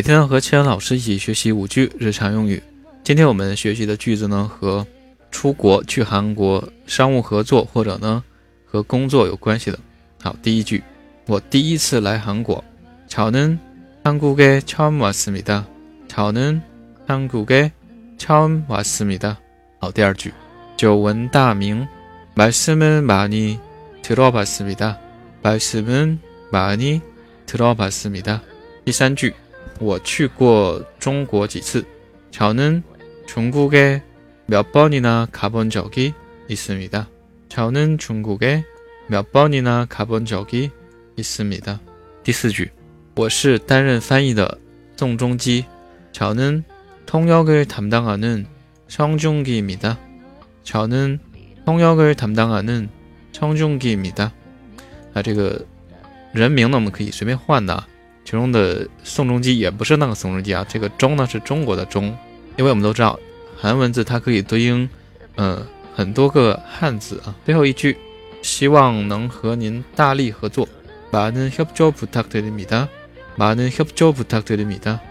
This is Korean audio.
每天和千老师一起学习5句日常用语。今天我们学习的句子呢，和出国去韩国商务合作或者呢和工作有关系的。好，第一句，我第一次来韩国。저는 한국에 처음 왔습니다. 저는 한국에 처음 왔습니다.好，第二句，久闻大名，말씀은 많이 들어봤습니다. 말씀은 많이 들어봤습니다. 第三句，我去过中国几次。저는 중국에 몇 번이나 가본 적이 있습니다. 저는 중국에 몇 번이나 가본 적이 있습니다. 第四句，我是担任翻译的宋仲基。저는 통역을 담당하는 성중기입니다. 저는 통역을 담당하는 성중기입니다. 这个人名呢，我们可以随便换的。其中的宋仲基也不是那个宋仲基啊，这个中呢是中国的中，因为我们都知道韩文字它可以对应很多个汉字啊。最后一句，希望能和您大力合作。많은 협조 부탁드립니다. 많은 협조 부탁드립니다.